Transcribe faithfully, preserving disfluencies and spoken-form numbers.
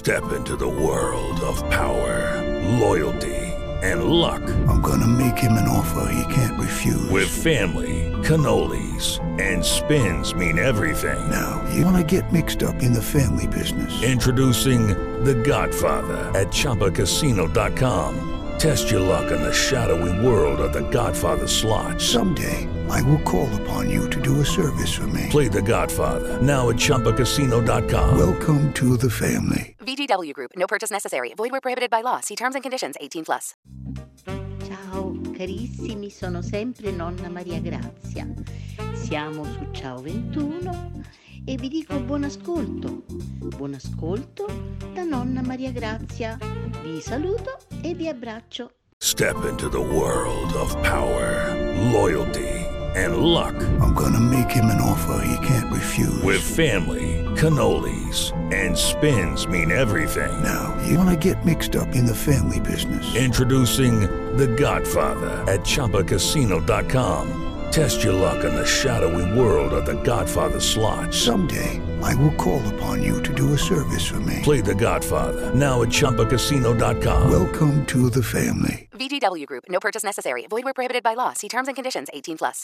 Step into the world of power, loyalty, and luck. I'm gonna make him an offer he can't refuse. With family, cannolis, and spins mean everything. Now, you wanna get mixed up in the family business. Introducing The Godfather at Chumba Casino dot com. Test your luck in the shadowy world of The Godfather slot. Someday, I will call upon you to do a service for me. Play The Godfather, now at Chumba Casino dot com. Welcome to the family. V G W Group. No purchase necessary. Void where prohibited by law. See terms and conditions. eighteen plus. Ciao carissimi, sono sempre nonna Maria Grazia. Siamo su Ciao ventuno e vi dico buon ascolto. Buon ascolto da nonna Maria Grazia. Vi saluto e vi abbraccio. Step into the world of power, loyalty, and luck. I'm gonna make him an offer he can't refuse. With family, cannolis, and spins mean everything. Now, you wanna get mixed up in the family business. Introducing The Godfather at Chumba Casino dot com. Test your luck in the shadowy world of The Godfather slot. Someday, I will call upon you to do a service for me. Play The Godfather, now at Chumba Casino dot com. Welcome to the family. V G W Group. No purchase necessary. Void where prohibited by law. See terms and conditions. eighteen plus.